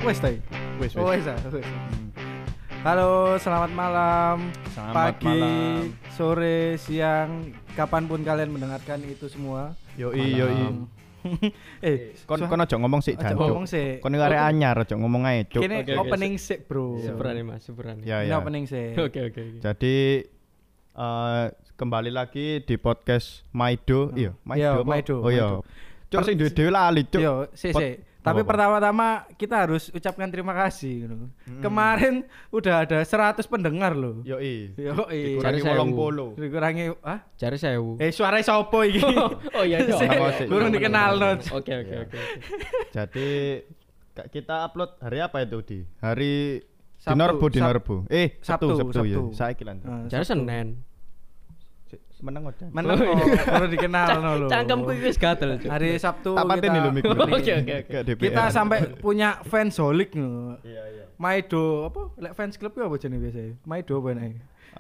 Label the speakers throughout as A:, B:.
A: Wes ta.
B: Wes.
A: Oh, wes. Halo, selamat malam.
B: Selamat
A: pagi,
B: malam.
A: sore, siang, kapanpun kalian mendengarkan itu semua.
B: Yoi. Kon aja ngomong sik
A: Aja
B: jancuk.
A: ngomong sik.
B: Kon arek anyar aja ngomong ae, Cuk.
A: Kene
C: Oke,
A: opening sik, Bro.
C: Seberani Mas, seberani.
B: Ya
A: Ini
B: ya.
A: opening sik.
C: Oke.
B: Jadi kembali lagi di podcast Maido. Iya,
A: Iya,
B: Maido.
A: Maido,
B: Oh iya.
A: Maido.
B: Cuk sing dhewe lali, Cuk.
A: Yo, sik. Tapi
B: Apa-apa?
A: pertama-tama kita harus ucapkan terima kasih gitu. Kemarin udah ada 100 pendengar loh.
B: Yoi.
A: Yoi.
B: Dikurangi
C: Cari
B: 80.
A: Dikurangi
C: Cari 1000.
A: suara sopo iki?
C: Oh iya.
A: Sik,
B: Sik.
A: Kurang dikenal not.
C: Oke.
B: Jadi kita upload hari apa itu di? Hari
A: Sabtu.
B: Dino Rebo. Sabtu ya.
A: Sabtu.
B: Saiki lan.
C: Cari Senin.
B: Meneng ojo.
A: Menang kok, perlu dikenal no lho.
C: Cangkemku iki wis gatel, Cuk.
A: Hari Sabtu
B: Tak pateni lho mik.
C: Oke.
A: kita sampai punya fans holik no.
B: Iya.
A: Maido apa? Lek fans club apa jenenge biasa? Maido apa nek?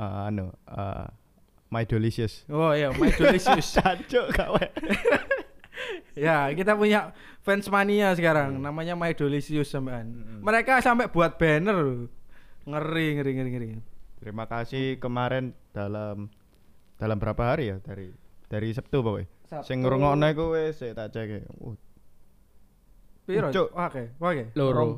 B: My Delicious.
A: Oh iya, Maidolicious.
B: Cacuk gawe.
A: Ya, kita punya fans mania sekarang, namanya Maidolicious sampean. Mereka sampai buat banner loh. Ngeri.
B: Terima kasih kemarin dalam berapa hari ya dari Sabtu pokoknya.
A: Sabtu.
B: Sing ngrungokno iku wis tak cek.
A: Piro?
B: Cuk.
A: Oke.
C: Loro.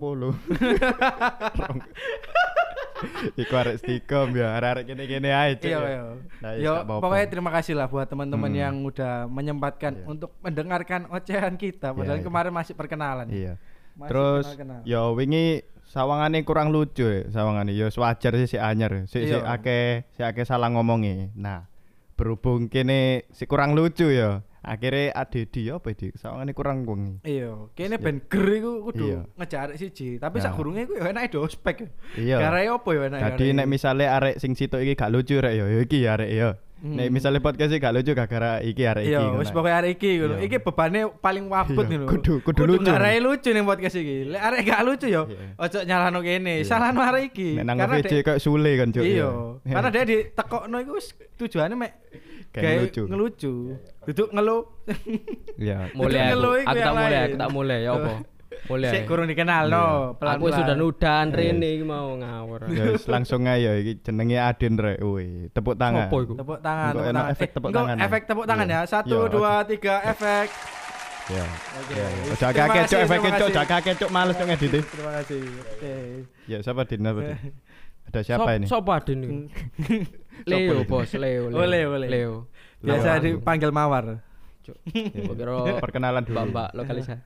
B: 20. Iku arek stikom ya, arek kene-kene ae, Cuk.
A: Iya.
B: Nah,
A: Yo,
B: gak apa-apa.
A: pokoknya terima kasih lah buat teman-teman yang udah
B: Iya.
A: menyempatkan untuk mendengarkan ocehan kita. Padahal
B: Iya.
A: kemarin masih perkenalan.
B: Iya.
A: Masih
B: Terus
A: kenal-kenal.
B: ya wingi sawangane kurang lucu ya, sawangane ya wajar sih si anyar. Si
A: Iya.
B: akeh salah ngomongi. Nah, berhubung kene si kurang lucu ya. Akhirnya Adedi apa di sawangane kurang wengi.
A: Iya, kene ben ger iku kudu
B: Iya.
A: ngejar arek siji, tapi
B: Nah.
A: sak gurunge iku ya enake do ospek.
B: Iya.
A: Garai opo ya enake?
B: Jadi nek misale arek sing sitok iki gak lucu rek ya iki ya arek ya. Nek misale podcast iki gak lucu gara-gara iki arek iki.
A: iya, wis pokoke arek iki ngono.
B: Iya.
A: Iki bebane paling wabut
B: Iya,
A: ngono.
B: kudu lucu.
A: Garai lucu ning podcast iki. Lek arek gak lucu ya
B: Iya.
A: ojo nyalahno kene,
B: Iya.
A: salahno arek iki.
B: Nek nang
A: Karena
B: VJ
A: dek-
B: kayak Sule kan Cuk.
A: Iya,
B: ya.
A: karena dia ditekokno iku wis tujuane mek
B: Kayak
A: gawe
B: ngelucu.
A: ngelucu. Duduk ngelu.
B: Iya.
C: Mulai
A: Itu ngeluh iku
C: aku
A: yang
C: tak mulai,
A: lain.
C: aku tak mulai ya apa? Mulai.
A: Sik kurang dikenal no, pelan-pelan.
C: Aku sudah nudan Rene iki mau ngawur.
B: Ya wis langsung ae ya iki jenenge Adin rek. Woi, tepuk tangan.
C: Sopo iku?
A: Tepuk tangan,
B: Engko
A: tepuk
B: enak
A: tangan.
B: efek tepuk
A: Engko
B: tangan ya?
A: efek tepuk tangan
B: Iya.
A: ya. 1
B: Iya,
A: 2 3 efek.
B: Ya.
A: Oke.
B: Ya. Ojo
A: Terima
B: akeh
A: kasih,
B: cuk efek
A: terima
B: cuk,
A: kasih.
B: akeh cuk males cuk ngedit.
A: Terima kasih. Oke.
B: Ya siapa Din? Ada siapa ini?
C: Sopo Adin iki? Leo, Bos, Leo.
A: Oh, Leo. Biasa dipanggil Mawar.
C: Cuk.
B: Ya.
C: Kira
B: Perkenalan dulu.
C: Mbak lokalisasi.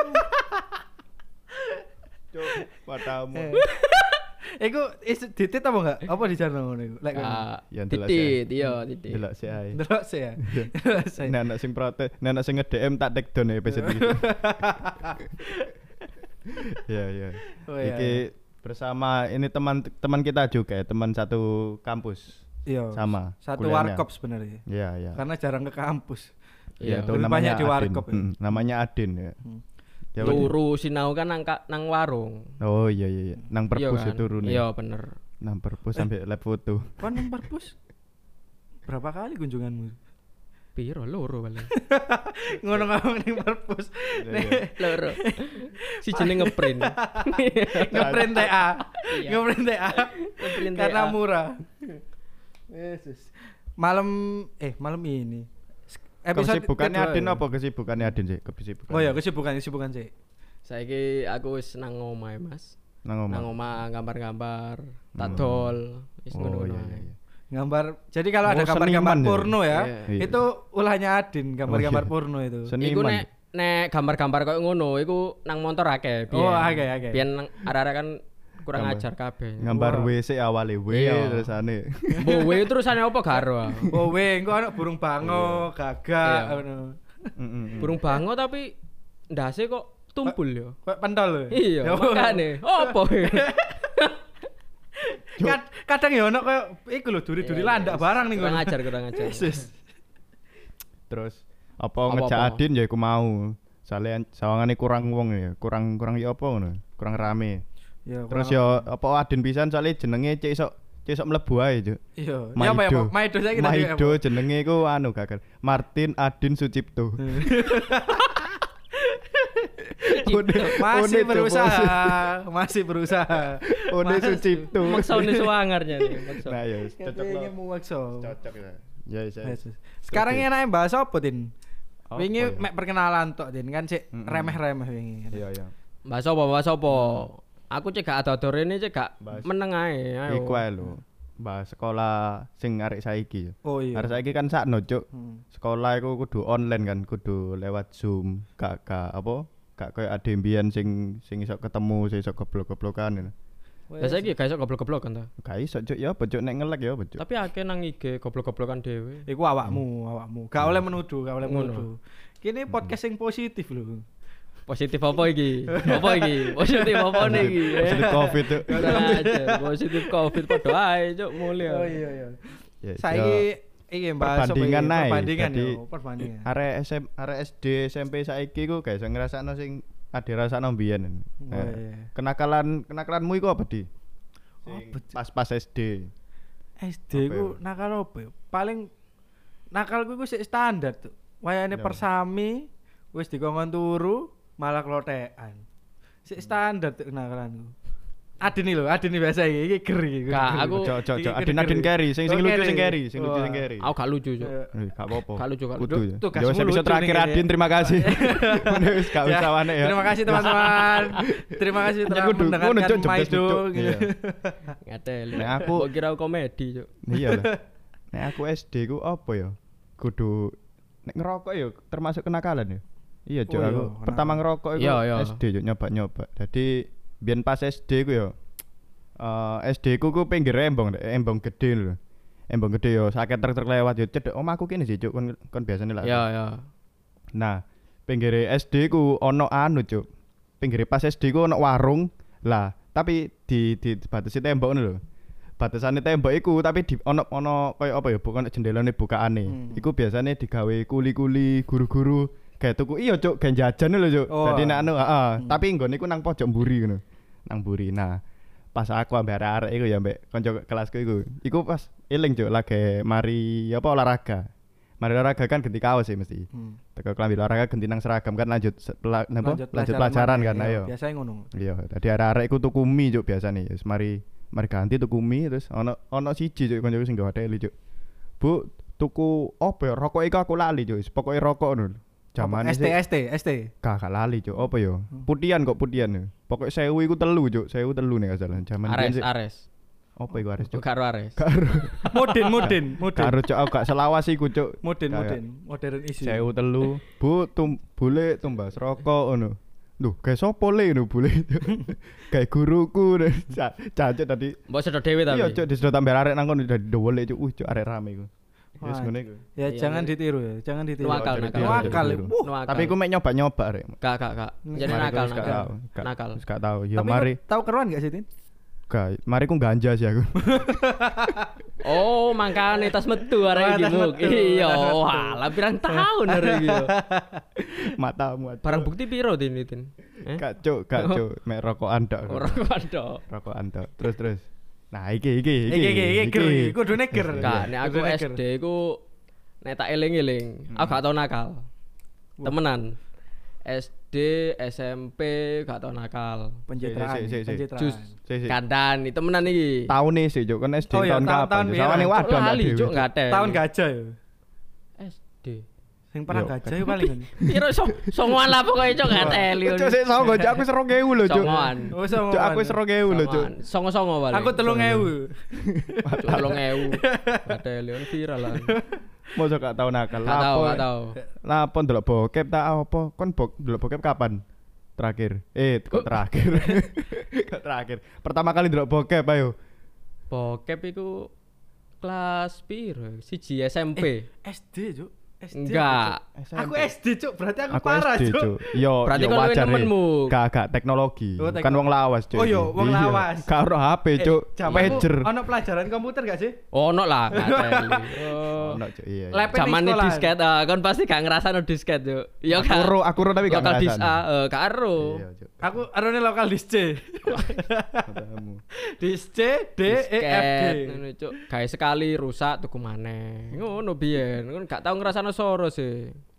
B: Cuk, padamu.
A: Iku ditit apa enggak? Apa di channel ngono iku? Lek
B: Ya, ndelok
C: Titit, iya, titit.
B: Delok sih ae.
A: ndelok sih ya. Ndelok sih.
B: Nek anak sing protes, nek anak sing nge-DM tak tag down ya episode iki. Ya.
A: Oh, iya,
B: Iki bersama ini teman kita juga, ya, teman satu kampus.
A: Iya.
B: Sama.
A: Satu
B: kuliahnya.
A: warkop sebenarnya.
B: Iya.
A: Karena jarang ke kampus.
C: Iya,
B: itu
A: lebih
B: namanya
A: banyak di
B: Adin.
A: warkop ya.
B: Namanya Adin ya. Ya,
C: Turu sinau kan nang warung.
B: Oh iya. Nang perpus
C: Iya
B: itu turun.
C: Iya, bener.
B: Nang perpus sampai live foto.
A: Kon nang perpus berapa kali kunjunganmu?
C: Piro loro paling.
A: Ngono ngomong ning perpus.
C: Loro. Si jeneng ngeprint.
A: Ngeprint TA.
C: Iya.
A: Ngeprint TA.
C: Ngeprint
A: Karena
C: TA.
A: murah. Yesus. Malam ini.
B: Kesibukannya
A: kedua
B: Adin
A: ya.
B: apa kesibukannya Adin sih? Kesibukan.
A: Oh ya, kesibukan sih.
C: Saiki aku wis nang omahe, Mas.
B: Nang omah.
C: Nang omah gambar-gambar, tak dol, wis
B: Oh
C: ngono-ngono
B: iya.
C: ae.
A: Gambar. Jadi kalau ada
B: Oh,
A: gambar-gambar
B: seniman ya?
A: porno ya,
B: Iya.
A: itu ulahnya Adin, gambar-gambar
B: Oh, iya.
A: porno itu.
C: Iku
B: Seniman.
C: nek gambar-gambar koyo ngono iku nang motor akeh.
A: Oh, akeh.
C: Biyen arek-arek kan kurang
B: Gambar.
C: ajar kabeh.
B: Gambar
A: Wah.
B: WC awale
C: Iya.
B: terusane.
C: Bowe terusane apa garo?
A: Oh engko ana burung bango, gagak
C: Iya.
A: ngono.
C: Burung bango tapi ndase kok tumpul yo.
A: Kayak pentol.
C: Iya, makane. Opo?
A: Kadang ya ono kayak iku lho duri-duri landak barang ning
C: Kurang
A: ngono.
C: kurang ajar.
A: Yesus.
B: Terus apa
C: Apa-apa?
B: ngejak Adin ya iku mau. Soale sawangane kurang wong ya, kurang ya apa ngono, kurang rame.
A: Ya,
B: Terus
A: kurang-
B: ya apa Adin pisan soalnya jenenge cek iso mlebu ae, Cuk.
A: iya. Ya apa ya, Pak? Maido saiki tadi apa?
B: Maido jenenge iku anu gagal. Martin Adin Sucipto.
A: Masih berusaha.
B: One Sucipto.
C: Maksone suwangarnya nih, maksa.
B: Nah, ya cocok
A: Ini
B: lo.
A: muwakso.
B: Cocok ya. Ya, ya.
A: Sekarang enake bahas apa, Tin?
B: Apa
A: Wingi
B: ya?
A: mek perkenalan tok, Tin. Kan sik remeh-remeh wingi.
B: Iya, iya.
C: Bahas apa? Aku cek gak ada ini cek gak
B: Bahas.
C: meneng ae. Ayo.
B: Iku ae lho. Bahas sekolah sing arek saiki.
A: Oh iya.
B: Arek saiki kan sakno, Cuk.
A: Hmm.
B: Sekolah iku kudu online kan, kudu lewat Zoom. Gak apa? Gak koyo ade mbiyen sing iso ketemu, sing iso goblok-goblokan ngono.
C: Lah saiki gak iso goblok-goblok kan ta.
B: Gak iso, Cuk. Ya, Cuk nek ngelek ya, Cuk.
C: Tapi akeh nang IG goblok-goblokan dhewe.
A: Iku awakmu. Gak oleh menuduh, gak oleh
C: Ngono.
A: menuduh. Kini podcast sing positif lho.
C: Positif apa iki? Positif apa nih iki?
B: Positif Covid, Cuk.
C: Kurang aja, positif Covid padha ae, Cuk, mulya.
A: Oh iya.
B: Ya,
A: Saiki iki bahas apa
B: perbandingan
A: iki?
B: ae.
A: Perbandingan
B: Jadi,
A: yo, perbandingan.
B: arek SD, SMP saiki ku gak iso ngrasakno sing ade rasakno mbiyen.
A: Oh, iya.
B: Kenakalanmu iku apa, Di?
A: Apa, Cuk?
B: Pas SD.
A: SD
B: Apa
A: ku
B: ya?
A: nakal apa ya? Paling nakalku iku sik standar tuh. Wayane
B: Ya.
A: persami wis dikongkon turu malah klotekan. Sik standar tuh nakalanku. Adeni biasa iki ger iki.
C: Gak, aku
B: Ojo
A: Iki
B: Adin carry, sing
A: Oh,
B: lucu
A: carry.
B: sing carry,
A: Wah.
C: aku gak lucu, Cuk.
B: Gak apa-apa.
C: Gak lucu, gak
B: Kudu
C: lucu.
B: ya.
A: Tuh,
B: Ya,
A: kasmu
B: episode
A: lucu
B: terakhir
A: nih,
B: Adin, terima kasih. Wis gak
A: Ya,
B: usah wane ya.
A: Terima kasih teman-teman. Terima kasih telah
B: Kudu, ngono,
A: mendengarkan
B: Cuk, jebes,
A: Maido
B: Cuk.
A: gitu.
B: Iya.
C: Ngatel.
B: Nek aku-
C: Kok kira aku komedi, Cuk.
B: Iya lah. Nek aku SD ku apa ya? Kudu nek ngerokok ya termasuk kenakalan ya. Iya, Cuk,
A: Oh, iya,
B: aku
A: kenakalan.
B: pertama ngerokok iku
C: Iya, iya.
B: SD Cuk, nyoba-nyoba. Jadi biyen pas SD ku ya SD ku pinggir embong gede lho. Embong gede yo sakit truk lewat yo cedek omahku kene sih Cuk kon biasane lah.
C: Ya.
B: Nah, pinggir SD ku ono anu Cuk. Pinggir pas SD ku ono warung. Lah, tapi di batasi tembok ngono lho. Batasane tembok iku tapi di ono koyo apa ya bukan jendelane bukaane. Iku biasane digawe kuli-kuli guru-guru kayak tuku iya Cuk, gawe jajan lho Cuk.
A: Oh.
B: Dadi nek anu tapi nggone iku nang pojok mburi ngono. Nang mburi. Nah, pas aku ambek arek iku ya ambek kanca kelasku iku pas eling Cuk lagi mari apa olahraga. Mari olahraga kan ganti kaos sih mesti. Teko klambi olahraga ganti nang seragam kan lanjut lanjut pelajaran kan ayo.
A: Biasanya ngono.
B: Iya, dadi arek-arek iku tuku mie Cuk biasane. Wis mari ganti tuku mie terus ono siji Cuk kancaku sing gawe teli Cuk. Bu, tuku apa ya? Rokok iku aku lali Cuk. Pokoke rokok ngono. Jamane
A: ST.
B: Gak lali Cuk. Apa ya? Putian. Pokoke 1000 iku telu Cuk. 1000 telu nek gak salah. Jaman
C: Ares.
B: Apa iku Ares Cuk?
C: Karo Ares.
A: Mudin.
B: Karo Cuk aku gak selawas iku Cuk.
A: Modern isi.
B: 1000 telu. Bu, bule tumbas rokok ngono. Duh, kayak sopo le ngono bule. Kayak guruku cacat tadi.
C: Mbok sedot dhewe tapi.
B: Iya Cuk, disedot tambah arek nang kono dadi dowele Cuk. Cuk arek rame iku. Wis
A: Wah,
B: ngene iku.
A: Ya
C: Iya,
A: jangan
C: iya.
A: ditiru ya, jangan ditiru.
C: Nuakal.
A: Nuakal.
C: Nuakal.
B: Tapi iku mek nyoba-nyoba rek.
C: Gak. Jadi
B: Mari
C: nakal.
B: aku gak tahu.
C: Nakal.
B: Wis gak tahu. Ya
A: Tapi
B: mari.
A: tahu keruan gak sih, Tin?
B: Gak, mari ku ganja sih aku.
C: Oh, mangkane tas metu arek iki muk. Iya, wah, lah pirang tahun arek iki.
B: Matamu.
C: Barang bukti piro Tin?
B: Gak Cuk, mek rokokan tok.
C: Ora kandok.
B: Rokokan tok. Terus. Nah, iki.
A: Iki kudune ger.
C: Gak, nek aku
A: Kudune ger.
C: SD ku nek tak eling-eling, aku gak tau nakal. Temenan. SD, SMP gak tau nakal.
A: Pencitraan.
B: Si.
C: Jus
B: Sik.
C: kandani temenan iki.
B: Tahun nih sih Cuk, kan SD
A: Oh iya,
B: tahun
A: tahun
B: kapan?
A: biyen.
B: Sawane waduh
C: Cuk, lali Cuk gak ada.
A: Tahun gajah ya.
C: SD.
A: Sing perang
B: Yo.
A: gajah itu paling.
C: Piro songoan lah pokoke Cuk gak teli.
B: Cuk sik songo Cuk, aku 2000 lho Cuk.
C: Songoan.
A: Oh, sama.
B: Cuk aku 2000 lho Cuk.
C: Songo-songo paling.
A: Aku 3000.
C: Cuk 3000. Gak teli on viral lah.
B: Mosok gak tau nakal.
C: Gak tau.
B: Lapo ndelok bokep tak apa? Kon ndelok bokep kapan? Terakhir. Kok terakhir? Kok terakhir. Pertama kali ndelok bokep ayo.
C: Bokep iku kelas piro? Siji SMP.
A: SD, Cuk. SD.
C: Enggak.
A: Aku SD, Cuk. Berarti aku
B: Aku
A: parah,
B: SD,
A: Cuk.
B: Cuk. Yo,
C: Berarti
B: yo
C: kon luwih
B: wajar.
C: nemenmu.
B: Gak teknologi.
A: Oh,
B: Kan wong lawas, Cuk.
A: Oh, yo, wong
B: Iya.
A: lawas.
B: Karo HP, Cuk. Pager.
A: Ono pelajaran komputer gak sih?
C: Ono lah, gak teli. Oh.
B: Ono, Cuk. Iya.
A: Lep-
C: Zaman
A: Ning sekolah.
C: disket, kon pasti gak ngerasano disket yo. Ya
B: Aku ro tapi gak
C: lokal dis
B: ngerasain.
C: karo.
B: Iya, Cuk.
A: Aku arone lokal dis C.
B: Matamu.
A: Dis C D E F G.
C: Ngono cuk. Gawe sekali rusak tuku maneh. Ngono biyen. Kon gak tau ngrasano soro sih.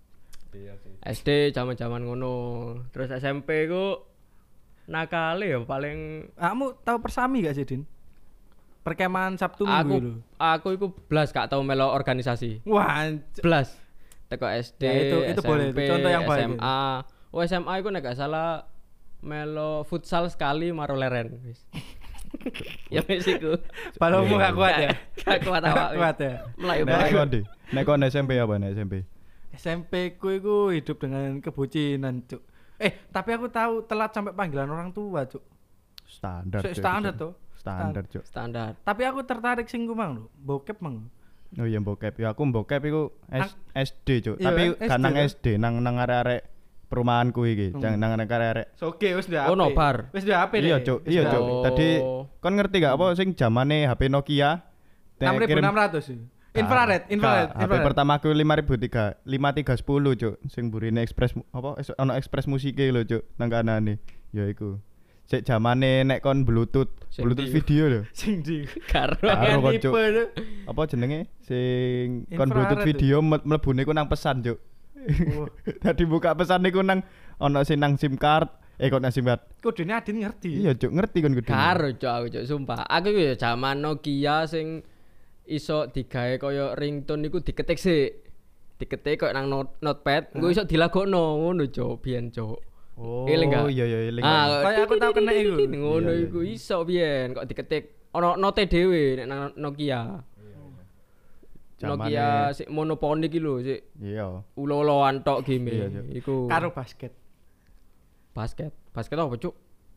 B: Iya sih.
C: SD zaman-zaman ngono. Terus SMP ku nakale ya paling
A: Kamu tahu Persami gak sih, Din? Perkemahan Sabtu Minggu
C: aku
A: itu.
C: aku iku blas gak tau melo organisasi.
A: Wah,
C: Blas. Teko SD,
A: Ya, itu
C: SMP,
A: boleh, itu contoh yang baik itu.
C: SMA. Oh SMA iku nek gak salah melo futsal sekali maro leren wis. Ya wis iku.
A: balonmu gak kuat ya?
C: Gak kuat awak.
A: Kuat ya.
C: Melayu
B: Nek
C: melayu.
B: kon di. Nek kon SMP apa nek SMP?
A: SMP ku iku hidup dengan kebucinan, Cuk. Tapi aku tahu telat sampai panggilan orang tua, Cuk.
B: Standar. Cuk,
A: Standar
B: itu.
A: tuh.
B: Standar, Cuk.
C: Standar.
A: Tapi aku tertarik sing ku mang lho, bokep mang.
B: Oh iya bokep. Ya aku bokep iku SD, Cuk.
A: Iya,
B: Tapi
A: SD
B: gak nang
A: kan?
B: SD, nang arek-arek perumahanku iki. Jangan nang arek-arek.
A: Soge wis ndek
C: Oh, no bar.
A: Wis ndek HP
B: Iya, Cuk. Iya, Cuk.
C: Oh.
B: Tadi kon ngerti gak apa sing zamane HP Nokia? Nek kirim-
A: 6600 sih. Infrared.
B: HP pertama aku 5310, Cuk. Sing burine Express apa ono Express musike lho, Cuk. Nang kanane. Ya iku. Sik zamane nek kon Bluetooth,
C: Sing
B: Bluetooth
C: di-
B: video lho.
A: Sing di
C: Karo.
B: Karo kok, Cuk.
A: tipe tuh.
B: Apa jenenge? Sing kon
A: Infrared
B: Bluetooth
A: tuh.
B: video mlebune ku nang pesan, Cuk.
A: Oh.
B: Tadi buka pesan niku nang ono sing nang SIM card. Kok nang SIM card.
A: Kudune Adin ngerti.
B: Iya, Cuk, ngerti kon kudu.
C: Karo cok aku cok sumpah. Aku iku ya zaman Nokia sing iso digawe koyo ringtone iku diketik sik. Diketik koyo nang notepad, engko iso dilagokno ngono cok biyen cok.
B: Oh,
C: Eling gak?
B: iya iya eling.
A: Kayak aku tahu kena iku.
C: Ngono
B: Iya, iya.
C: iku iso biyen kok diketik ono note dhewe nek nang Nokia. Nokia sik monoponi iki lho sik
B: Iya.
C: ulo-uloan tok game.
B: Iya, Cok.
C: Iku
A: Karo basket.
C: basket. Basket apa cuk?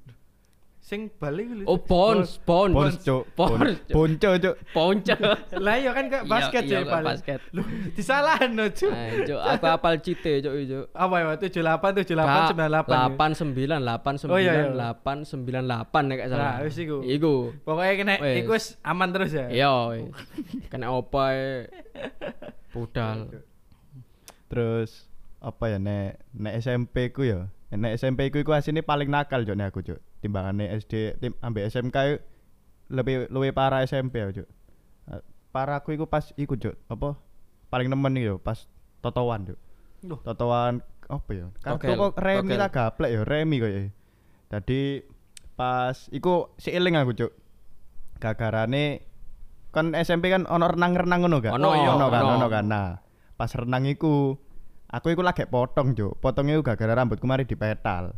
A: Sing bali ku lho.
C: Oh Pons.
B: Pons, Cuk.
C: Pons.
B: Ponco, Cuk.
C: Ponco.
A: Lah iya kan kayak basket
C: Iya,
A: sih
C: kok
A: paling.
C: basket.
A: Loh, disalahno, Cuk.
C: Cuk, aku apal cite cuk cuk.
A: Apa ya? 78 98 98.
C: 89
A: Oh, iya, iya.
C: 89 898 nek gak salah.
A: Nah, wis iku.
C: Iku.
A: Pokoknya kena
C: Wes.
A: iku wis aman terus ya.
C: Iya. wis. Kena opo ae. Budal.
B: Terus apa ya nek SMP ku ya. Nek SMP ku iku asine paling nakal Cuk nek aku Cuk. Timbangane SD ambek SMK yuk, lebih parah SMP ya Cuk. Parah aku iku pas iku Cuk. Apa paling nemen iki yo pas totowan Cuk.
A: Loh.
B: Totowan apa ya? Kartu
C: Tokel,
B: kok remi
C: tokel.
B: lah gaplek ya, remi kok ya. Tadi pas iku seiling aku Cuk. Gagarane kan SMP kan ono renang-renang ngono gak?
C: Ono, iya, ono.
B: Ono kan. Nah, pas renang iku aku iku lagi potong, Cuk. Potongnya iku gara-gara rambutku mari dipetal.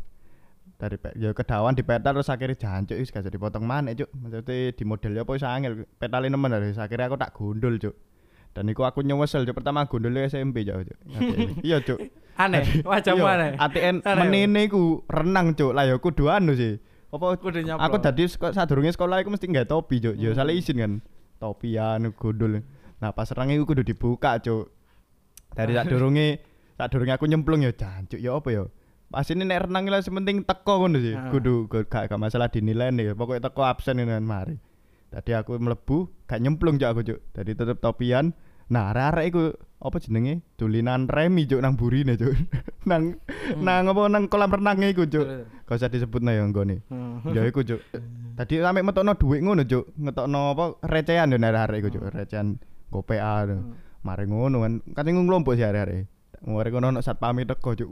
B: Ya kedawan dipetal terus akhirnya jancuk wis gak jadi potong maneh, Cuk. Maksudnya di model apa wis angel. Petale nemen terus akhirnya aku tak gundul, Cuk. Dan iku aku nyesel, Cuk. Pertama gundulnya SMP, Cuk. Iya, Cuk.
A: Aneh, wajahmu
B: Iya,
A: aneh.
B: ATN
A: Aneh.
B: menene iku renang, Cuk. Lah ya kudu anu sih. Apa
A: Kudu nyaplo.
B: aku dadi sadurunge sekolah iku mesti nggae topi, Cuk. Ya salah izin kan. Topian gundul. Nah, pas renang iku kudu dibuka, Cuk. Dari sadurunge aku nyemplung ya jancuk ya apa ya. Pas ini nek renang lah sementing teko ngono sih.
A: Ah.
B: Kudu gak masalah dinilai nih. Pokoknya teko absen ini mari. Tadi aku mlebu gak nyemplung Cuk aku, Cuk. Tadi tetep topian. Nah, arek-arek iku apa jenenge? Dulinan remi Cuk nang burine, Cuk. nang apa nang kolam renangnya iku, Cuk. Gak usah disebutno ya nggone. Ya iku, Cuk. Tadi sampe metokno dhuwit ngono, Cuk. Ngetokno apa recehan yo arek-arek iku, Cuk. Recehan GoPay. Mari ngono kan. Kan sing nglompok sih arek-arek. Ngore kono ono satpame teko, Cuk.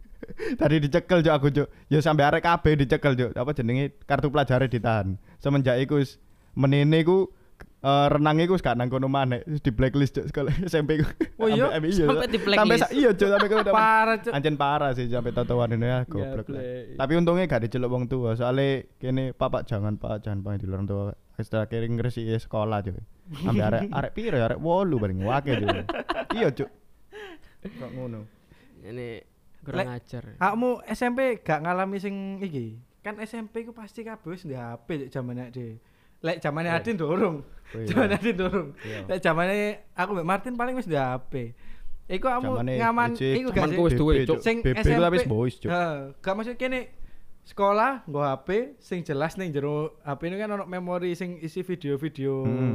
B: Tadi dicekel Cuk aku, Cuk. Ya sampe arek kabeh dicekel, Cuk. Apa jenenge? Kartu pelajar ditahan. Semenjak iku wis menene iku renang iku wis gak nang kono maneh, wis di blacklist Cuk sekolah SMP ku.
A: Oh iya?
C: Sampai di blacklist?
B: Iya Cuk, sampai kono.
A: Parah, Cuk.
B: Ancen parah sih sampai totoan ini ya goblok. lah.
C: Gablek.
B: Tapi untungnya gak diceluk wong tua, soalnya kene Pak jangan di luar tua. Wis tak kirim ngresiki sekolah Cuk. Sampai arek piro ya? Arek 8 bareng wake Cuk. Iya Cuk. Kok ngono.
C: Ini kurang
A: Lek-
C: ajar.
A: Kamu SMP gak ngalami sing iki? Kan SMP ku pasti kabeh wis ndek HP jamane Ade. Lek jamane Adin dorong.
B: Oh, iya.
A: Jamane Adin dorong.
B: Iya.
A: Lek jamane aku mbek Martin paling wis ndek HP. Iku kamu
B: Zamane
A: ngaman
B: Ejek,
A: iku gak sih?
C: Temanku wis duwe,
B: BB,
C: Cuk.
A: Sing
B: BB
A: SMP
B: lah wis boys Cuk.
A: Gak maksud kene sekolah nggo HP sing jelas ning jero HP ini kan ono memori sing isi video-video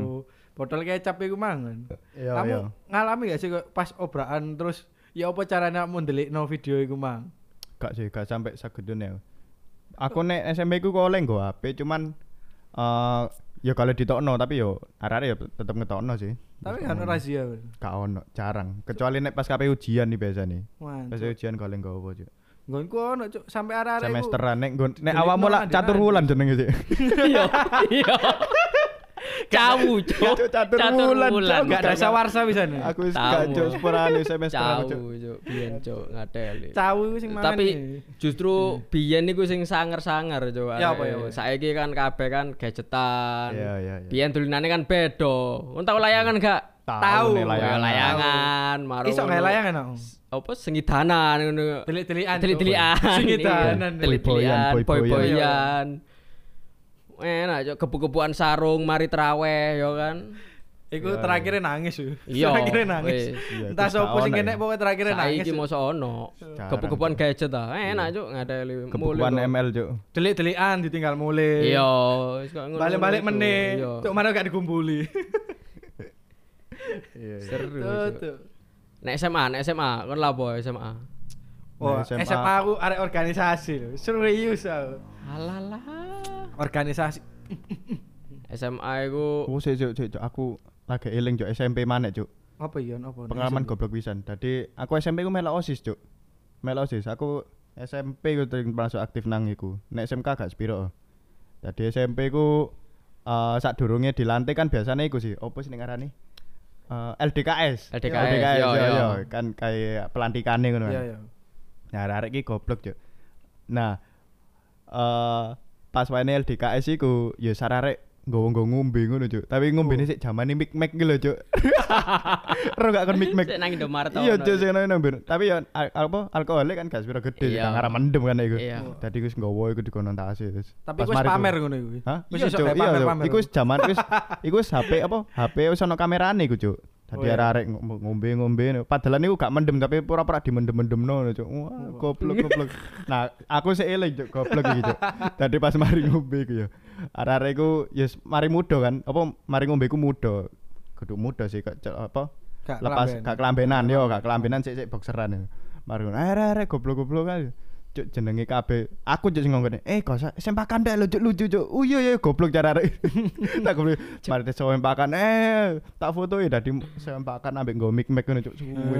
A: botol kecap iku mangan.
B: Iya,
A: Kamu
B: iya.
A: ngalami gak sih kok pas obrakan terus ya apa caranya kamu ndelikno video iku mang?
B: Gak sih, gak sampai sagedune. Aku nek SMP ku kok oleh nggo HP cuman Ya kalau ditokno tapi yo arek-arek ya tetep ngetokno sih.
A: Tapi kan razia.
B: Gak ono, jarang. Kecuali nek pas KPU ujian nih biasanya. Pas
A: Mantap.
B: ujian goleng nggo apa, Cuk.
A: Nggonku ono cuk sampai arek-arek iku.
B: Semesteran nek
A: Delikno
B: awakmu lak
A: lanjut
B: catur
A: lanjut.
B: wulan jenenge sih.
C: Iya. Iya. Cawu, Cuk.
B: Cuk, catur wulan, Cuk.
A: Gak ada sawarsa bisa nih.
B: Aku wis
C: Tahu.
B: gak Cuk sepurane semesteran, Cuk.
C: Cawu, Cuk. Biyen, Cuk, ngateli.
A: Cawu iku sing mangan.
C: Tapi
A: iki.
C: justru biyen niku sing sanger-sanger, Cuk.
A: Ya, apa, ya, apa?
C: Saiki kan kabeh kan gadgetan.
B: Iya, iya.
C: Biyen dolinane kan beda. Kon tau layangan gak?
A: Tahu.
B: nih
C: Ya,
B: layangan.
C: layangan, marung.
A: Iso gawe layangan aku.
C: Apa sengidanan ngono.
A: Delik-delikan.
C: Delik-delikan.
A: Sengidanan.
C: Delik-delikan,
B: Boy-boyan.
C: boy-boyan. Enak, Cuk, kebu-kebuan sarung mari traweh ya kan.
A: Iku terakhirnya nangis yo.
C: Iya,
A: Terakhirnya nangis.
C: wis.
B: Iya,
A: Entah
B: terus
A: sopo
B: gak
A: sing
B: ono
A: kene
B: ya.
A: pokoke terakhirnya nangis.
C: Saiki mosok ono.
B: Jarang,
C: Kebu-kebuan
B: Cuk.
C: gadget ta. Enak, Cuk, ngadeli.
B: Kebukuan ML, Cuk.
A: Delik-delikan ditinggal mulai.
C: Iya, wis kok ngono.
A: Balik-balik meneh.
C: Iya.
A: Cuk mana gak dikumpuli.
B: Iya.
C: Seru.
A: Tuh,
C: Cuk.
A: tuh.
C: Nek SMA kon lapo SMA?
A: Oh,
B: SMA.
A: SMA aku arek organisasi lho. Serius aku.
C: Alalah.
A: Organisasi.
C: SMA iku
B: Oh, sik, Cuk, aku lagi eling, Cuk, SMP maneh, Cuk.
A: Apa iya apa?
B: Pengalaman goblok pisan. Dadi aku SMP ku melok OSIS, Cuk. Melok OSIS. Aku SMP ku termasuk aktif nang iku. Nek SMK gak sepiro. Dadi SMP ku sadurunge dilantik kan biasanya iku sih. Opo sih ning ngarani? LDKS.
C: LDKS, yo, yo.
B: Kan kayak pelantikane ngono kan.
A: Iya, iya.
B: Nah, arek iki goblok, Cuk. Nah, pas wae LDKS iku ya sararek nggowo ngombe ngono, Cuk. Tapi ngombene sik jamane mik-mek iki lho, Cuk. Ro gak kon mik-mek.
C: Sik nang Indomaret.
B: Iya, Cuk, sing nang bir. Tapi ya apa alkoholnya kan gak sepiro gede,
C: Iya.
B: gak ngarah mendem kan iku.
C: Iya.
B: Dadi wis nggowo iku dikonotasi terus.
A: Tapi
B: Pas
A: wis
B: mari ku-
A: pamer ngono iku.
B: Hah?
A: Wis
B: Iya,
A: iso
B: Cuk.
A: kayak
B: Iya,
A: pamer-pamer.
B: iku wis jaman iku wis HP apa? HP wis ono kamerane iku, Cuk. Dadi
A: Oh, iya.
B: arek ngombe-ngombe. Padahal niku gak mendem tapi pura-pura dimendem-mendemno, Cuk. Wah, goblok. Nah, aku sik eling, Cuk, goblok iki, Cuk. Dadi pas mari ngombe iku ya. Arek-arek iku ya mari muda kan. Apa mari ngombe iku muda. Kudu muda sih kok apa?
A: Gak
B: Lepas
A: kelamben.
B: gak kelambenan yo, gak kelambenan sik boxeran. Mari ngono. Arek goblok-goblok kan. Cuk jenenge kabeh. Aku cuk sing ngomongane, kok sempakan dak lucu, Cuk. Oh iya goblok cara arek. Tak goblok. Mari tes sempakan tak foto ya dadi sempakan ambek nggo mic-mic ngono, Cuk. Suwe.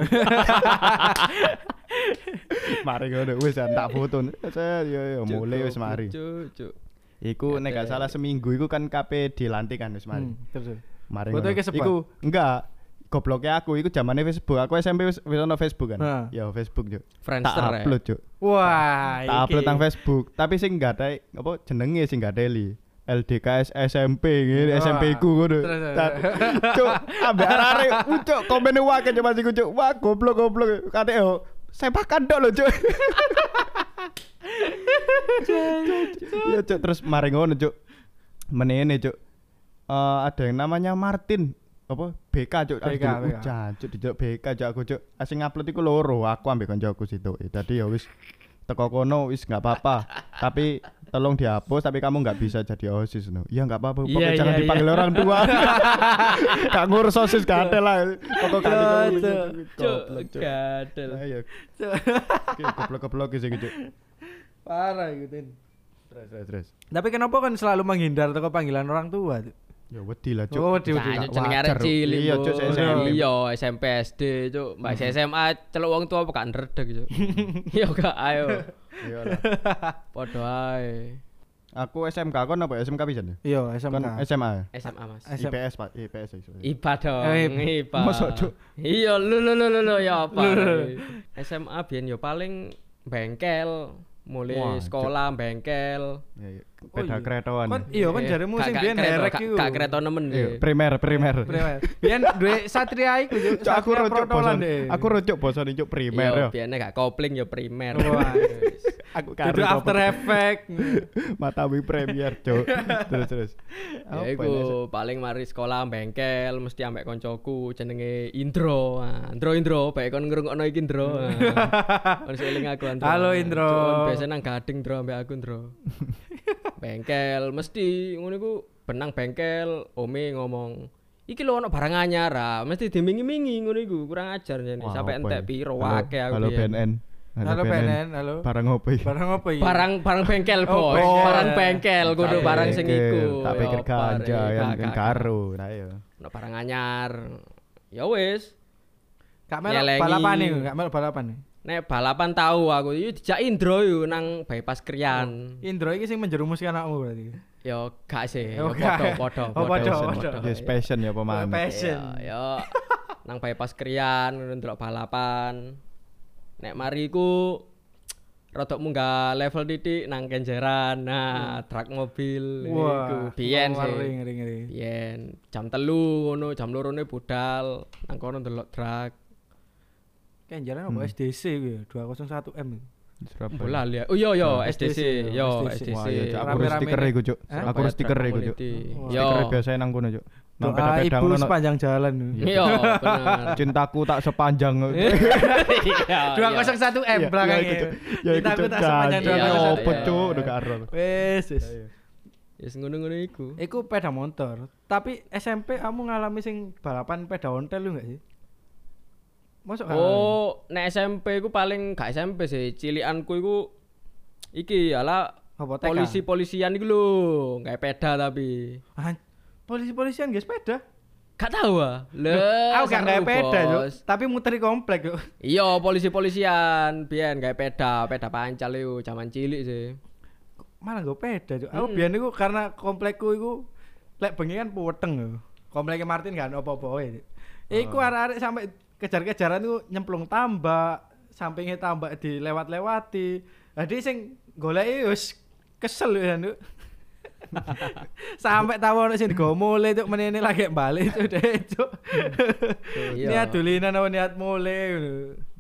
B: Mari ngono wis tak foto. Yo mulai wis mari.
C: Cuk.
B: Iku nek gak salah seminggu iku kan KP dilantik kan wis mari.
A: Terus.
B: Mari
A: Foto
B: ngono.
A: iki sebar?
B: Iku enggak gobloknya aku iku zamane Facebook. Aku SMP wis ono Facebook kan.
A: Nah.
B: Ya Facebook, Cuk.
C: Friendster,
B: Tak upload, Cuk.
A: Wah,
B: Tak upload nang Facebook, tapi sing gak ada apa jenenge sing gak teli. LDKS SMP ngene,
A: Wah.
B: SMP ku ngono.
A: Terus.
B: Cuk, ambek arek cuk komene wae cuk masih cuk. Wah, goblok. Kate yo sepakan tok lho, Cuk. Ya, Cuk, terus mari ngono, Cuk. Menene, Cuk. Ada yang namanya Martin apa BK, Cuk.
A: BK.
B: Cuk, dijak BK, Cuk, aku, Cuk. Sing ngupload iku loro, aku ambek koncoku situ. Dadi ya wis teko kono wis enggak apa-apa. Tapi tolong dihapus tapi kamu enggak bisa jadi OSIS no. Iya enggak apa-apa. Pokoknya
C: Iya,
B: jangan
C: iya,
B: dipanggil orang tua. Gak ngurus OSIS gak ada lah. Pokoknya
C: Cuk, gadel.
B: Ayo. Oke, goblok-goblok sih gitu.
A: Parah iku, Tin.
B: Terus.
A: Tapi kenapa kan selalu menghindar teko panggilan orang tua? Cuk?
B: Ya wedi lah, Cuk.
A: Oh, wedi.
C: Nah,
A: Cuk,
C: jenenge arek
B: wajar.
C: cilik.
B: Iya,
C: Bu.
B: Cuk, SMP.
C: Iya, SMP SD, Cuk. Mbak SMA celuk wong tua apa gak ndredeg, Cuk. Iya gak ayo.
B: Iya lah.
C: Padha ae.
B: Aku SMK kon apa SMK pisan ya?
A: Iya,
B: Kon
A: SMK.
B: SMA. ya?
C: SMA, Mas.
A: SM.
B: IPS, Pak. IPS iso.
C: IPA dong,
A: Eh,
C: IPA.
B: mosok, Cuk?
C: Iya, lu ya apa? SMA biyen yo paling bengkel, mulai
B: Wah,
C: sekolah bengkel.
B: Ya,
A: Oh,
B: peda
A: iya.
B: keretoan.
A: Kon iya kan jaremu sing biyen herek iku.
C: Gak kereta nemen.
B: Iya,
C: deh.
B: primer.
A: Biyen duwe Satria iku, Cuk.
B: Cuk, aku
A: Satria
B: rujuk
A: protolan
B: bosan.
A: deh.
B: Aku rujuk bosan cuk primer
C: Iya,
B: yo.
C: biyen gak kopling ya primer.
A: Wah.
B: Aku
A: Itu After Effect.
B: Matawi Premier, Cuk. Terus.
C: Ya iku paling mari sekolah bengkel mesti ambek koncoku jenenge Indro. Nah, Indro, bae kon ngrungokno iki Indro. Nah, kon seling aku Indro.
A: Halo, Indro.
C: Cuk, biasa nang Gading Indro ambek aku Indro. Bengkel mesti ngono iku benang bengkel ome ngomong iki lho ono barang anyar mesti dimingi-mingi ngono iku kurang ajar jane sampai entek piro akeh aku
B: Halo
C: biyen.
B: BNN.
A: Halo PNN, halo.
B: Barang opo iki?
A: Barang apa iki?
C: Barang bengkel,
A: Oh,
C: Bos.
A: bengkel.
C: Barang bengkel kudu
B: Tak
C: barang sing
B: pikir,
C: iku.
B: Tak pikir
C: Ya,
B: ganja
C: bare,
B: yang
C: gak.
B: karo. Nah ya.
C: Ono barang anyar. Ya wis.
A: Gak melok
C: Nyelengi.
A: balapan nih, gak melok balapan nih.
C: Nek balapan tahu aku iki dijak Indro yo nang bypass Krian.
A: Indro iki sing menjerumuskan anakmu berarti.
C: Yo gak sih.
A: Oh,
C: Yo
A: gak.
C: podo.
A: Oh, podo.
B: Yes passion ya pemain.
A: Passion.
C: Yo nang bypass Krian ndelok balapan. Nek mari ku rodok munggah level titik nang Kenjeran. Nah, truk mobil iku biyen sih.
A: Ngeri.
C: Biyen jam 3 ngono, jam 2 budal nang kono ndelok truk.
A: Kenjaran apa SDC ku ya, 201M.
B: Surabaya.
C: Bola lihat. Oh iya
A: SDC,
C: SDC. Yo
A: SDC.
C: SDC.
B: Wah, ya, Cuk, aku
A: Rame-rame
B: stiker iku, Cuk.
A: Hah?
B: Aku stiker iku, Cuk.
A: Wah.
C: Yo.
B: Stiker biasa nang kono, Cuk. Nang
A: Doa
B: peda-peda
A: ibu
B: ngono.
A: sepanjang jalan.
C: Iya, bener.
B: Cintaku tak sepanjang.
C: Iya.
A: 201M
B: Iya,
A: belakangnya.
B: iya, itu, Cuk. Ya iku,
A: Cintaku
B: Cuk.
A: tak sepanjang
C: Iya,
A: 201M.
B: Opo,
C: iya.
B: Cuk, udah karo.
A: Wes.
C: Wis ngono-ngono iku.
A: Iku peda motor. Tapi SMP kamu ngalami sing balapan peda ontel lu enggak sih? Masuk
C: Oh, nek SMP ku paling gak SMP sih, cilikanku iku iki ala
A: apa TK?
C: polisi-polisian iku lho, gawe peda tapi.
A: Polisi-polisian guys sepeda.
C: Gak tahu ah.
A: Aku gak
C: seru,
A: gawe peda, Cuk.
C: Bos.
A: Tapi muteri komplek, Cuk.
C: Iya, polisi-polisian biyen gawe peda pancal iku zaman cilik sih.
A: Malah gak peda, Cuk. Aku biyen iku karena komplekku iku lek bengi kan puweteng lho. Kompleknya Martin kan apa-apa wae. Iku arek-arek sampai kejar-kejaran iku nyemplung tambak, sampingnya tambak dilewat-lewati. Jadi sing goleki wis kesel ya, Cuk. Sampai tahu ono sing digawa mule Cuk, menene lagi balik Cuk deh, Cuk.
C: Iya.
A: Niat dulinan apa niat mule ngono.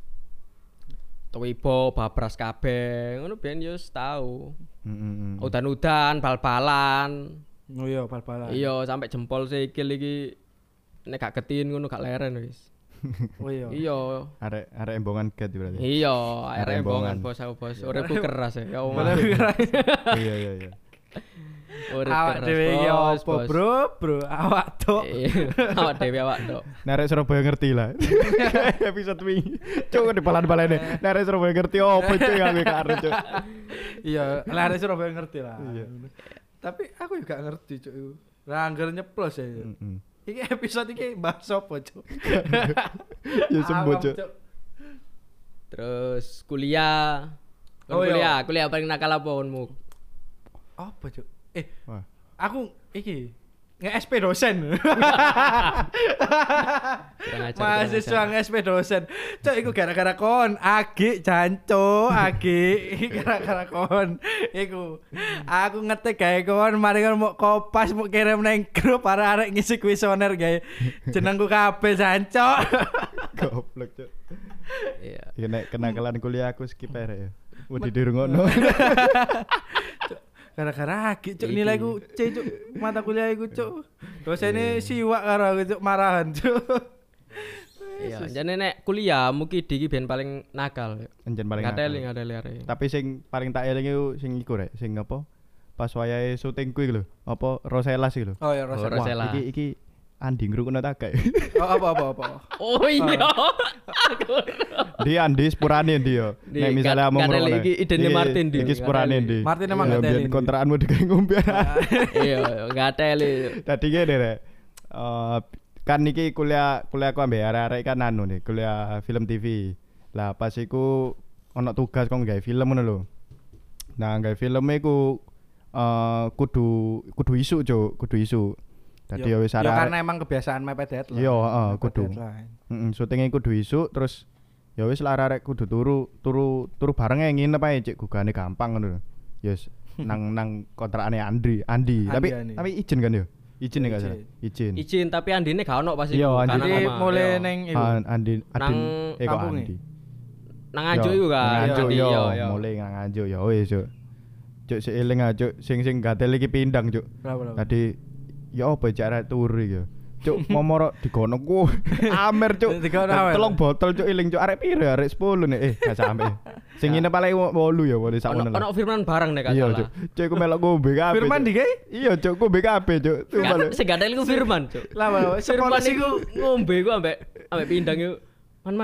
C: Tuwibo babras kabeh, ngono biyen yo wis tau.
B: Heeh.
C: Udan-udan, bal-balan.
A: Oh iya, bal-balan.
C: Iya, sampai jempol sikil iki nek gak ketin ngono gak leren wis.
A: Oh iya.
C: Iya.
B: Arek embongan get berarti.
C: Iya,
B: Arek
C: embongan
B: embongan.
C: bos aku bos. Uripku keras ya. Ya Allah.
B: Iya.
C: Urip
A: Awak
C: keras,
A: dhewe iki
C: bos,
A: opo,
C: bos.
A: Bro? Awak tok.
C: Iya, awak dhewe awak tok.
B: Narek Surabaya ngerti lah. Episode wingi. Cuk di balan-balane. Narek Surabaya ngerti opo cuk aku gak arep cuk.
A: Iya, lare Surabaya ngerti lah.
B: Iya.
A: Tapi aku juga ngerti, Cuk. Lah anggar nyeplos ya.
B: Heeh.
A: Iki episode iki bahas apa, Cuk?
B: Ya sembuh cuk.
C: Terus kuliah.
A: Oh, iya.
C: Kuliah paling nakal apa onmu?
A: Apa, Cuk?
B: Wah.
A: Aku iki nge-SP dosen. Mahasiswa nge-SP dosen. Cuk, iku gara-gara kon, Agi janco, Agi gara-gara kon. Iku aku ngetik gawe kon, mari kon mau kopas mau kirim nang grup para arek ngisi kuesioner gawe jenengku kabeh janco.
B: Goblok cuk.
C: Iya.
B: Ya nek kenakalan kuliah aku skip ae ya. Mau dirungokno.
A: Gara-gara Agi cuk
C: Iki.
A: nilaiku C cuk, mata kuliah iku cuk. Dosene siwak karo aku cuk marahan cuk.
C: Iya, jane nek kuliah mungkin iki ben paling nakal.
B: Anjen paling
C: Ngateli
B: nakal.
C: arek.
B: Tapi sing paling tak eling iku sing iku rek, sing apa? Pas wayahe syuting kuwi lho, apa Roselas iki lho.
A: Oh ya Rosa.
C: Oh, Rosella.
B: Wah, iki Andi ngrungokno tak gak?
A: Oh apa.
C: Oh iya.
B: Di Andi sepurane ndi yo.
C: Di,
B: Nek misale
C: gak-
B: amung
C: gak ada
B: ngrungokno.
C: lagi idene
B: Iya,
C: Martin, Di.
B: Iki
C: Gak
B: sepurane
C: ada
B: ndi.
A: Martin emang
B: Iya,
A: gak
B: biyen
A: teli, Di.
B: kontrakanmu digawe ngombe.
C: Iya, ngateli.
B: Tadi gini rek. Kan iki kuliahku ambek arek-arek kan anu nih, kuliah film TV. Lah pas iku ono tugas kok nggawe film ngono lho. Nah, nggawe film iku kudu isu, Cuk, kudu isu. Dadi ya wis
A: Ya
B: arek.
A: karena emang kebiasaan mepet deadline.
B: Iya, heeh,
A: Mepet
B: kudu.
A: deadline.
B: Syutingnya kudu isu terus ya wis lah arek kudu turu bareng ae nginep ae cek gugane gampang ngono lho. Ya wis nang kontrakane Andi. Tapi izin kan yo. Izin enggak salah. Izin.
C: Izin tapi andine gak ono pas iku.
B: Iya,
C: Gak
B: Andi.
C: ono
A: Jadi
C: sama.
A: mulai
C: Iya.
A: neng iku.
B: Andi
C: Nang
B: kok
A: kampung
B: Andi.
C: Nang Anjuk iku kan.
B: Nang Anjuk
C: Andi,
B: yo,
C: iya.
B: mulai nang Anjuk ya wis Cuk. Cuk seiling aja sing gatel iki pindang Cuk.
A: Berapa?
B: Tadi ya apa cara turu iki ya. Cuk momoro digono ku. Amer Cuk.
A: Digono amer.
B: Telung botol Cuk iling Cuk arek piro arek 10 nek gak sampe. Sing ngene paling 8 ya wali sakmono.
C: Ono Firman bareng nek gak
B: Iya
C: salah.
B: Cuk. Cuk iku melok ngombe kabeh.
A: Firman
B: Cuk.
A: di kae?
B: Iya Cuk, ngombe kabeh Cuk.
C: Kan sing gak ada iku Firman, Cuk.
A: Lah,
C: Firman
A: sepolos
C: iku ngombe iku ambek pindang iku. Man.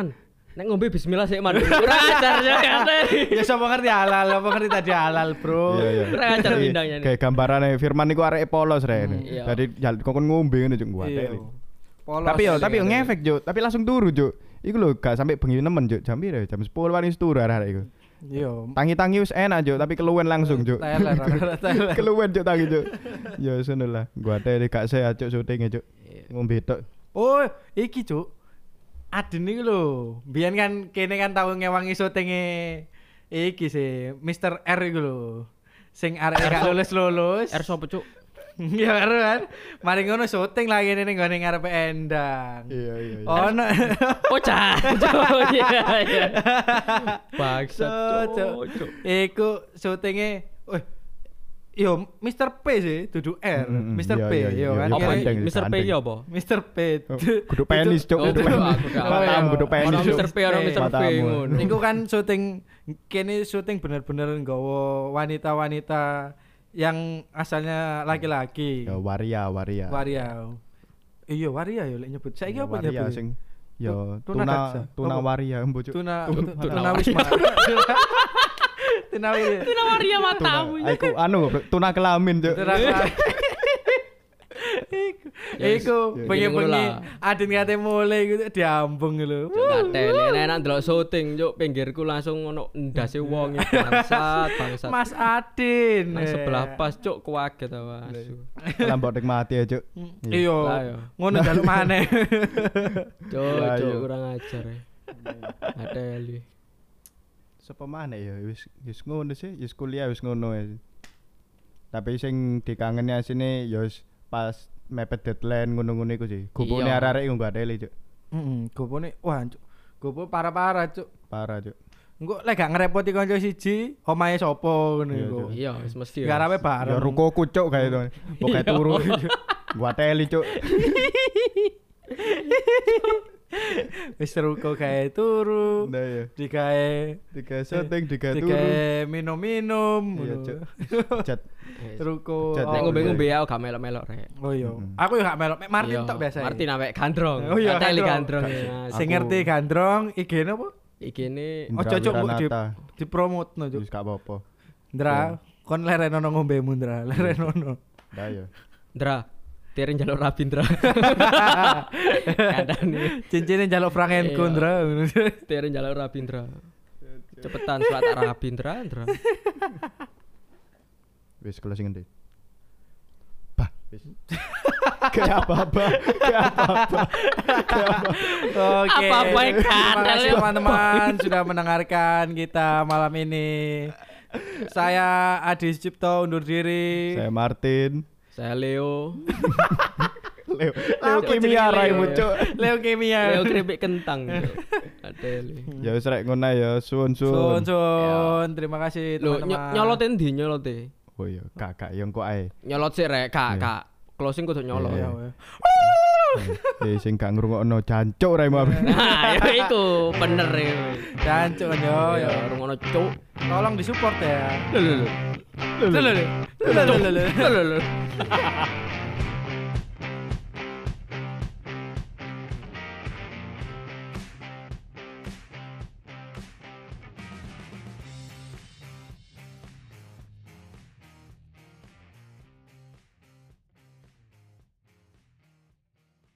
C: Nek ngombe bismillah sik man. Ora ajar ya kate.
A: Ya sapa ngerti halal, apa ngerti tadi halal, Bro.
B: Iya.
C: Ora ajar bindangnya.
B: Kayak gambarane Firman iku areke polos rek.
C: iya.
B: Dadi kokon ngombe ngene juk
A: Iya.
B: kuateli.
A: Polos.
B: Tapi yo ngefek juk, tapi langsung turu juk. Iku lho gak sampai bengi nemen juk. Jam piro? Jam 10 wani turu arek iku.
A: Iya.
B: Tangi-tangi wis enak juk, tapi keluwen langsung juk.
A: Teler.
B: Keluwen juk tangi juk. Ya ngono lah. Kuateli gak sehat juk syutinge juk. Ngombe tok.
A: Oh, iki, Cuk. Aden iki lho. Biyen kan kene kan tau ngewangi syutinge iki sih, Mr. R iku lho. Sing arek gak lulus-lulus.
C: R sapa cuk?
A: Ya karo kan. Mari ngono syuting lagi ning nggone ngarepe Endang.
B: Iya.
A: Ono.
C: Oh cuk. Iya. Bangsat cuk.
A: Iku syutinge yo Mr. P sih, dudu R. Mr. P yo kan.
C: Apa
B: Iya,
C: iki? Mr. P iki apa?
A: Mr. P.
B: Kudu penis cuk.
C: Oh, aku gak
B: Matamu kudu
C: Ono
B: penis cuk.
C: Mr. P, ono Mr. P
B: Matamu.
C: ngono.
A: Niku kan syuting kene syuting bener-bener nggawa wanita-wanita yang asalnya laki-laki.
B: Ya waria.
A: Waria. Iya, waria ya lek nyebut. Saiki apa
B: Waria
A: nyebut?
B: sing ya
A: Tuna daksa.
B: tuna
A: Apa?
B: waria embo cuk.
A: Tuna wisma. Tuna wisma.
C: Tuna waria matamu.
B: Aku anu tuna kelamin cuk.
A: Iku
C: Yes.
A: bengi-bengi
C: Gini ngono
A: adin kate mulai gitu diambung lho.
C: Gatel enak ndelok syuting cuk pinggirku langsung ono ndase wong bangsat.
A: Mas Adin.
C: Nang sebelah pas cuk kuaget awas.
B: Lambok nikmati ya cuk.
C: Lah,
A: Iya.
C: yo.
A: Ngono jaluk maneh.
C: Cuk,
B: Lah,
C: cuk
B: iya.
C: kurang ajar ya. Ateli.
B: Sapa maneh ya wis ngono sih, wis kuliah wis ngono ya. Tapi sing dikangeni asine ya wis pas mepet deadline ngono-ngono iku sih. Gupune
C: Iya.
B: arek-arek iku gak teli cuk.
A: Gopone wah cuk. Gopo parah-parah cuk.
B: Parah cuk.
A: Engko lek gak ngerepoti kanca siji, omahe sapa ngono
B: Iya,
A: iku.
B: Cuk.
C: Iya, wis mesti.
A: Garape
B: Ya
A: bareng.
B: rukoku cuk kae to. Pokoke turu. Gua teli cuk.
A: Wis ruko gawe turu.
B: Nah ya.
A: Digawe
B: Tiga syuting, tiga turu.
A: digawe minum-minum
B: Iya
A: ngono.
B: cuk. Cat.
A: Ruko.
B: Cat,
C: Nek
A: oh,
C: ngombe-ngombe aku gak melok-melok rek.
A: Oh iya.
B: Mm-mm.
A: Aku yo gak melok. Mek Martin
C: Iya,
A: tok biasa.
C: Martin ambek gandrong.
A: Oh iya,
C: Ateli
A: gandrong.
C: gandrong. ya.
A: Sing ngerti gandrong IG-ne apa?
C: Iki ne
A: Ojo cuk mbok
B: Wiranata.
A: dipromotno cuk.
B: Wis gak apa-apa.
A: Ndra, kon lerenono ngombemu Ndra, lerenono.
B: Dah ya.
C: Ndra. Tirin jaluk Rabindra. Kadane
A: Cincine njaluk Frankenku
C: Iya.
A: Ndra.
C: Tirin jaluk Rabindra. Cepetan surat Rabindra, Ndra.
B: Wis closing endi? Bah, wis. Kayak apa-apa.
A: Oke.
C: Apa-apa yang
A: Terima
C: kadal
A: kasih
C: ya.
A: teman-teman sudah mendengarkan kita malam ini. Saya Adi Cipto undur diri.
B: Saya Martin.
C: Saya Leo.
B: Leo
A: Apa
B: kimia
A: jenenge
B: raimu
A: Leo?
B: cuk.
A: Leo Kimia.
C: Leo keripik kentang. Ateli.
B: Ya wis rek ngono ya, suwun.
A: Sun. Terima kasih
C: Lho,
A: teman-teman.
C: nyolot endi nyolote?
B: Oh iya, kakak yang kok ae.
C: Nyolot sik rek, Kak,
B: Iya.
C: Kak. Closing kudu nyolot.
B: Iya.
A: Ya, ya.
B: Sing gak ngrungokno jancuk raimu.
C: Nah, ya iku bener ya.
A: Jancuk yo
C: Ya,
A: yo.
C: rungono cuk.
A: Tolong disupport ya.
C: Lho lho lho.
A: Lho, lho, lho. Lho, lho, lho, lho.
C: Lho lho lho.